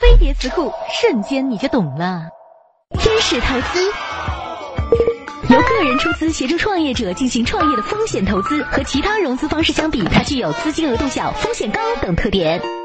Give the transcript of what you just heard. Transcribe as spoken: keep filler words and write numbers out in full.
飞碟词库，瞬间你就懂了。天使投资由个人出资协助创业者进行创业的风险投资，和其他融资方式相比，它具有资金额度小、风险高等特点。